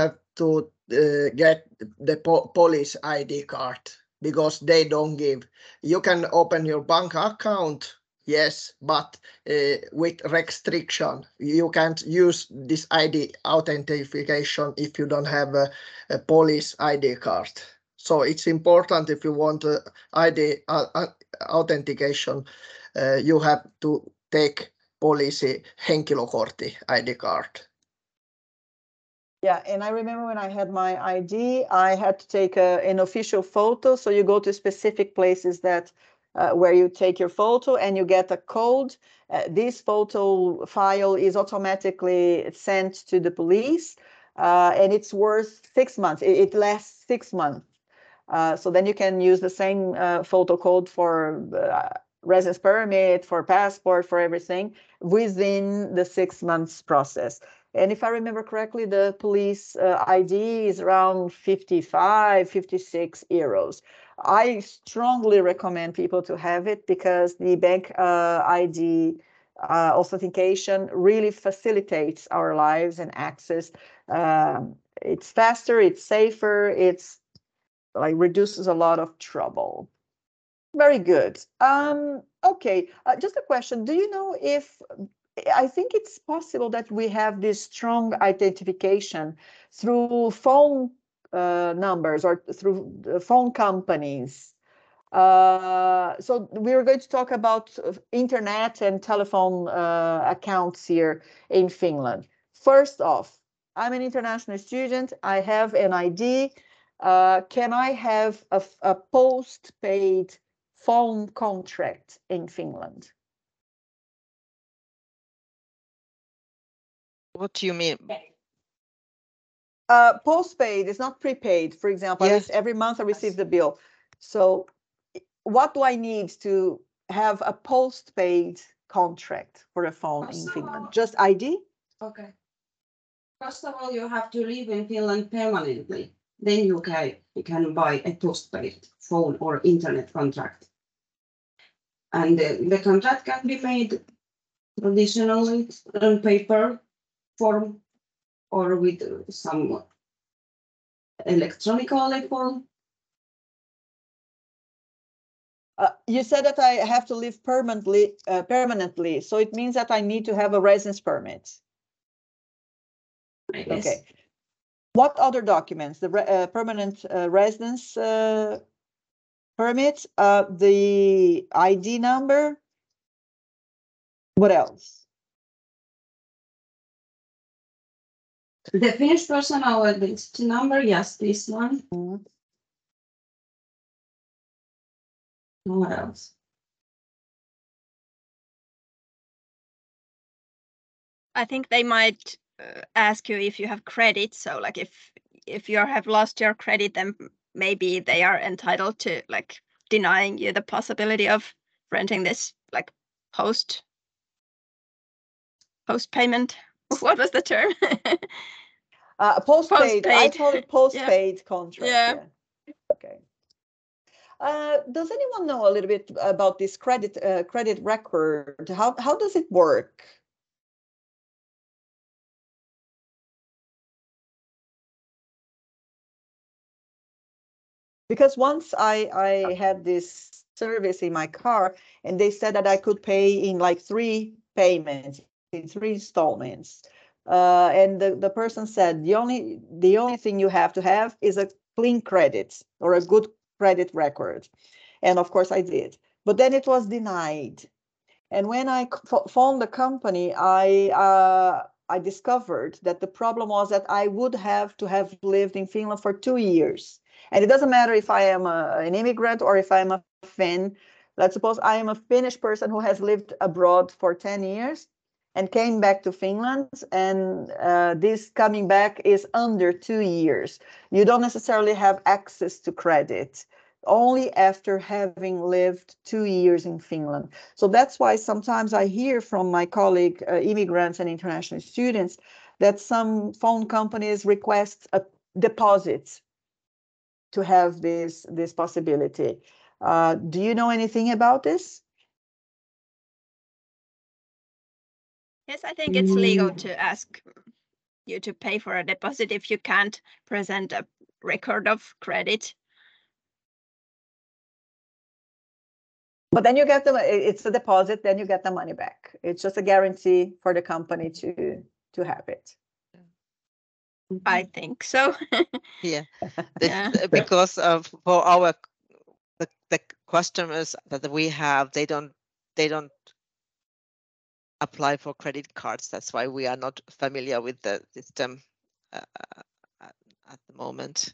Speaker 2: get the police ID card, because they don't give. You can open your bank account, yes, but with restriction. You can't use this ID authentication if you don't have a police ID card. So it's important if you want ID authentication, you have to take policy henkilökortti ID card.
Speaker 1: Yeah, and I remember when I had my ID, I had to take an official photo. So you go to specific places that where you take your photo and you get a code. This photo file is automatically sent to the police, and it's worth 6 months. It lasts 6 months. So then you can use the same photo code for residence permit, for passport, for everything within the 6 months process. And if I remember correctly, the police ID is around 55, 56 euros. I strongly recommend people to have it because the bank ID authentication really facilitates our lives and access. It's faster, it's safer, it's like reduces a lot of trouble. Very good. Okay, just a question. Do you know if I think it's possible that we have this strong identification through phone numbers or through phone companies. So we're going to talk about internet and telephone accounts here in Finland. First off, I'm an international student. I have an ID. Can I have a postpaid phone contract in Finland?
Speaker 3: What do you mean?
Speaker 1: Postpaid is not prepaid. For example,
Speaker 3: Yes.
Speaker 1: every month I receive the bill. So what do I need to have a postpaid contract for a phone in Finland? Just ID?
Speaker 4: Okay. First of all, you have to live in Finland permanently. Then you can buy a postpaid phone or internet contract. And the contract can be made traditionally on paper form or with some electronic form.
Speaker 1: You said that I have to live permanently, so it means that I need to have a residence permit.
Speaker 4: Yes.
Speaker 1: Okay. What other documents? The permanent residence permit, the ID number. What else?
Speaker 4: The Finnish personal identity number, yes, this one.
Speaker 1: Mhm.
Speaker 4: What else?
Speaker 5: I think they might ask you if you have credit. So like if you have lost your credit, then maybe they are entitled to like denying you the possibility of renting this like post payment. What was the term?
Speaker 1: Postpaid. I
Speaker 5: Postpaid.
Speaker 1: call it postpaid contract.
Speaker 5: Yeah.
Speaker 1: Okay. Does anyone know a little bit about this credit record? How does it work? Because once I had this service in my car and they said that I could pay in like 3 payments, in 3 installments. And the person said the only thing you have to have is a clean credit or a good credit record. And of course I did. But then it was denied. And when I phoned the company, I discovered that the problem was that I would have to have lived in Finland for 2 years. And it doesn't matter if I am an immigrant or if I'm a Finn. Let's suppose I am a Finnish person who has lived abroad for 10 years and came back to Finland. And this coming back is under 2 years. You don't necessarily have access to credit, only after having lived 2 years in Finland. So that's why sometimes I hear from my colleague immigrants and international students that some phone companies request a deposit to have this possibility. Do you know anything about this?
Speaker 5: Yes, I think it's legal to ask you to pay for a deposit if you can't present a record of credit.
Speaker 1: But then you get it's a deposit, then you get the money back. It's just a guarantee for the company to have it.
Speaker 5: I think so.
Speaker 3: Yeah,
Speaker 5: Yeah.
Speaker 3: because for our the customers that we have, they don't apply for credit cards. That's why we are not familiar with the system at the moment.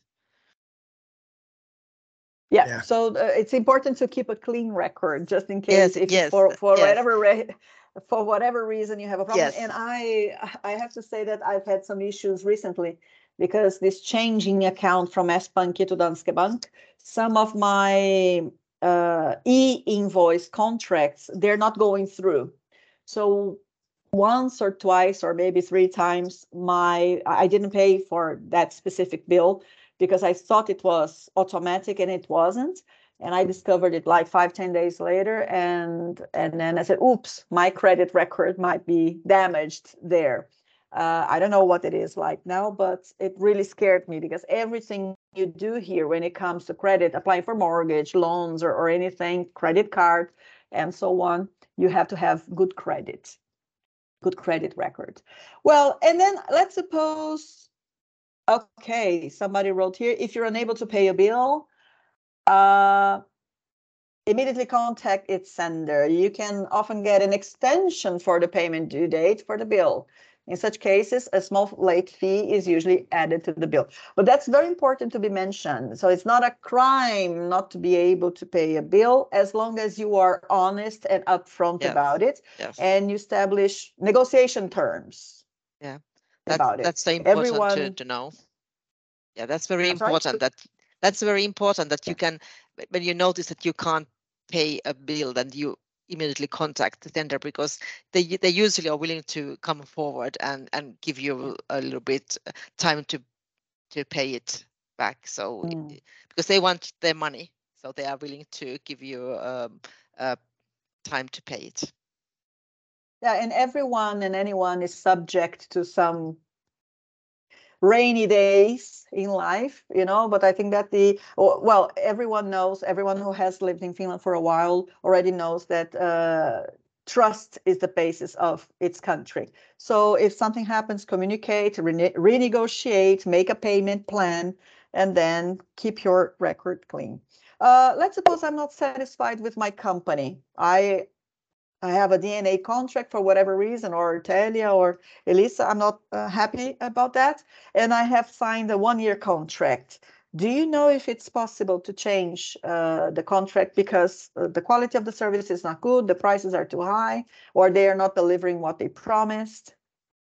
Speaker 1: Yeah,
Speaker 2: Yeah.
Speaker 1: so it's important to keep a clean record just in case
Speaker 3: Yes,
Speaker 1: for
Speaker 3: yes.
Speaker 1: for whatever reason you have a problem.
Speaker 3: Yes.
Speaker 1: And I have to say that I've had some issues recently because this changing account from S-Pankki to Danske Bank, some of my e-invoice contracts, they're not going through. So once or twice or maybe 3 times I didn't pay for that specific bill because I thought it was automatic and it wasn't. And I discovered it like 5-10 days later. And then I said, oops, my credit record might be damaged there. I don't know what it is like now, but it really scared me because everything you do here when it comes to credit, applying for mortgage, loans, or anything, credit card, and so on, you have to have good credit record. Well, and then let's suppose, okay, somebody wrote here, if you're unable to pay a bill, immediately contact its sender. You can often get an extension for the payment due date for the bill. In such cases, a small late fee is usually added to the bill. But that's very important to be mentioned. So it's not a crime not to be able to pay a bill as long as you are honest and upfront about it, and you establish negotiation terms.
Speaker 3: Yeah,
Speaker 1: about it.
Speaker 3: That's important to know. Yeah, that's very important. That's very important that you can, when you notice that you can't pay a bill, then you immediately contact the sender because they usually are willing to come forward and give you a little bit time to pay it back. So because they want their money, so they are willing to give you time to pay it.
Speaker 1: Yeah, and everyone and anyone is subject to some rainy days in life, but I think that everyone who has lived in Finland for a while already knows that trust is the basis of its country. So if something happens, communicate, renegotiate, make a payment plan, and then keep your record clean. Let's suppose I'm not satisfied with my company. I have a DNA contract for whatever reason, or Telia or Elisa, I'm not happy about that. And I have signed a 1-year contract. Do you know if it's possible to change the contract because the quality of the service is not good, the prices are too high, or they are not delivering what they promised?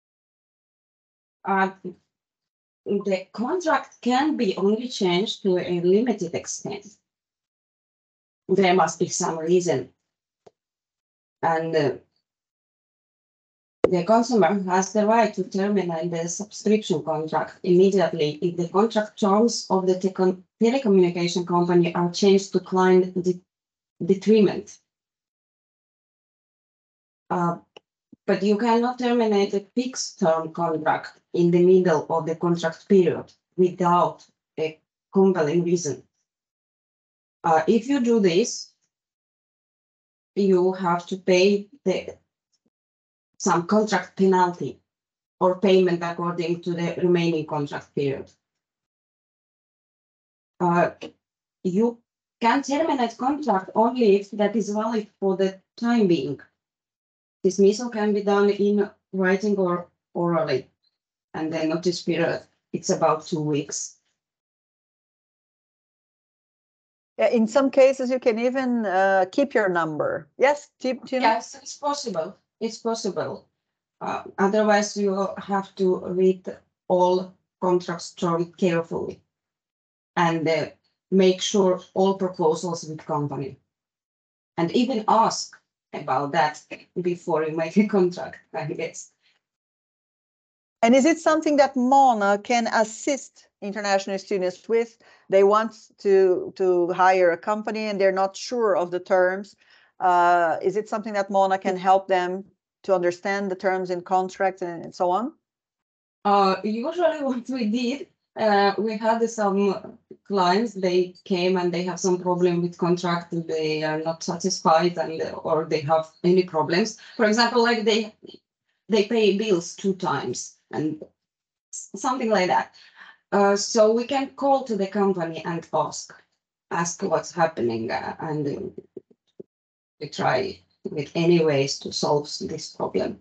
Speaker 4: The contract can be only changed to a limited extent. There must be some reason. And the consumer has the right to terminate the subscription contract immediately if the contract terms of the telecommunication company are changed to client detriment. But you cannot terminate a fixed term contract in the middle of the contract period without a compelling reason. If you do this, you have to pay some contract penalty or payment according to the remaining contract period. You can terminate contract only if that is valid for the time being. Dismissal can be done in writing or orally, and the notice period, it's about 2 weeks.
Speaker 1: In some cases, you can even keep your number. Yes, Tina?
Speaker 4: Yes, it's possible. It's possible. Otherwise, you have to read all contracts terms carefully and make sure all proposals with company. And even ask about that before you make a contract, I guess.
Speaker 1: And is it something that Mona can assist international students with? They want to hire a company and they're not sure of the terms. Is it something that Mona can help them to understand the terms in contracts and so on?
Speaker 4: Usually what we did, we had some clients, they came and they have some problem with contract, they are not satisfied or they have any problems. For example, like they pay bills 2 times and something like that. So we can call to the company and ask what's happening, and we try with any ways to solve this problem.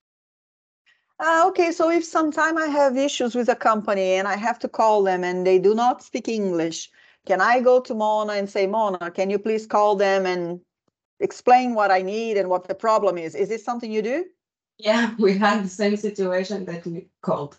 Speaker 1: Okay, so if sometime I have issues with a company and I have to call them and they do not speak English, can I go to Mona and say, Mona, can you please call them and explain what I need and what the problem is? Is this something you do?
Speaker 4: Yeah, we had the same situation that we called.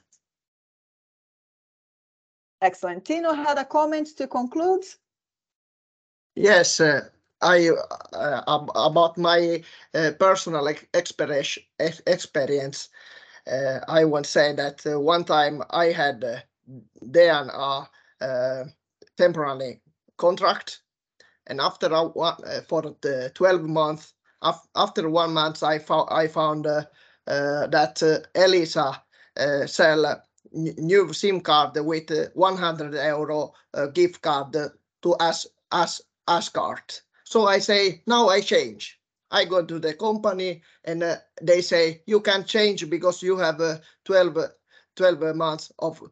Speaker 1: Excellent. Tino had a comment to conclude.
Speaker 2: Yes, I about my personal experience. I want to say that one time I had DNA temporary contract, and after for the 12 months, after 1 month, I found that Elisa sell new SIM card with €100 gift card to Asgard. So I say now I change. I go to the company and they say you can change because you have 12 months of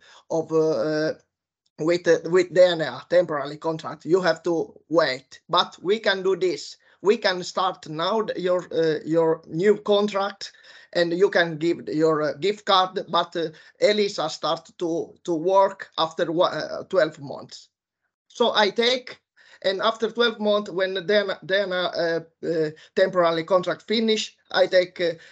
Speaker 2: with DNA temporary contract. You have to wait, but we can do this. We can start now your new contract, and you can give your gift card. But Elisa start to work after 12 months. So I take. And after 12 months, when the temporary contract finish, I take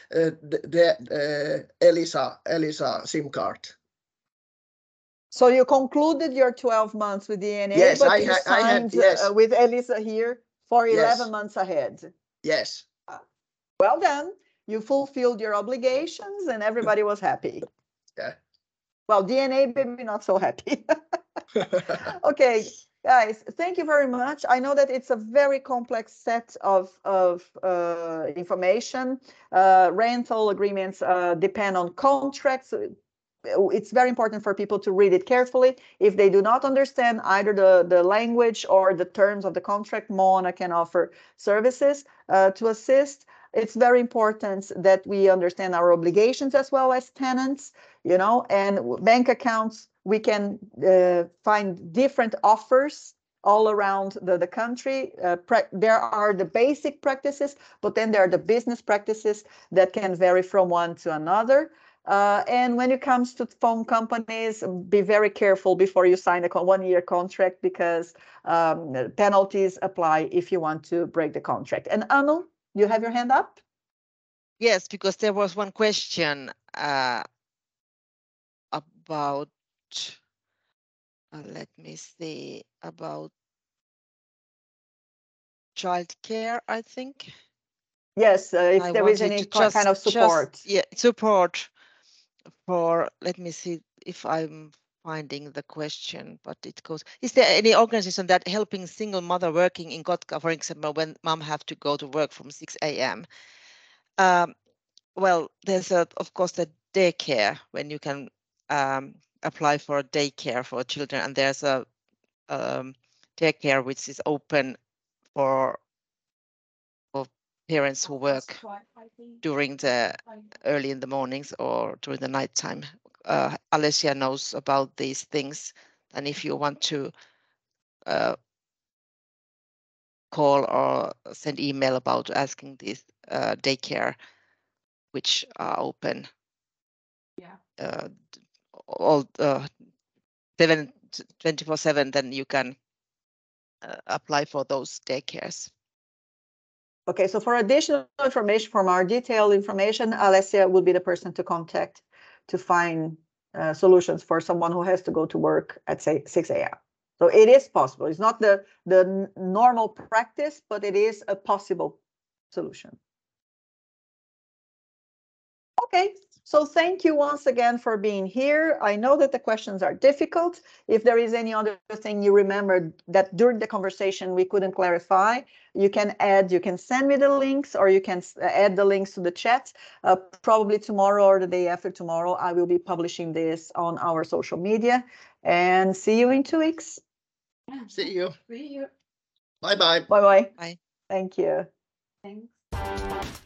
Speaker 2: the Elisa SIM card.
Speaker 1: So you concluded your 12 months with DNA,
Speaker 2: yes,
Speaker 1: but you signed with Elisa here for 11 months ahead.
Speaker 2: Yes.
Speaker 1: Well done. You fulfilled your obligations and everybody was happy.
Speaker 2: Yeah.
Speaker 1: Well, DNA maybe not so happy. Okay, guys, thank you very much. I know that it's a very complex set of information. Rental agreements depend on contracts. It's very important for people to read it carefully. If they do not understand either the language or the terms of the contract, Mona can offer services to assist. It's very important that we understand our obligations as well as tenants, you know, and bank accounts. We can find different offers all around the country. There are the basic practices, but then there are the business practices that can vary from one to another. And when it comes to phone companies, be very careful before you sign a 1-year contract, because penalties apply if you want to break the contract. And Anu, you have your hand up?
Speaker 3: Yes, because there was one question about, let me see, about childcare, I think.
Speaker 1: Yes, if there is any kind of support.
Speaker 3: Support for, let me see if I'm finding the question, but it goes, is there any organization that helping single mother working in Kotka, for example, when mom have to go to work from 6 a.m.? Well, there's of course the daycare when you can apply for a daycare for children, and there's a daycare which is open for parents who work during the early in the mornings or during the nighttime. Alessia knows about these things, and if you want to call or send email about asking this daycare, which are open, all 24/7, then you can apply for those daycares.
Speaker 1: Okay, so for additional information, from our detailed information, Alessia would be the person to contact to find solutions for someone who has to go to work at, say, 6 a.m. So it is possible. It's not the normal practice, but it is a possible solution. Okay, so thank you once again for being here. I know that the questions are difficult. If there is any other thing you remembered that during the conversation we couldn't clarify, you can send me the links, or you can add the links to the chat. Probably tomorrow or the day after tomorrow, I will be publishing this on our social media. And see you in 2 weeks.
Speaker 2: See you.
Speaker 4: See you.
Speaker 2: Bye-bye.
Speaker 1: Bye-bye.
Speaker 3: Bye.
Speaker 1: Thank you.
Speaker 4: Thanks.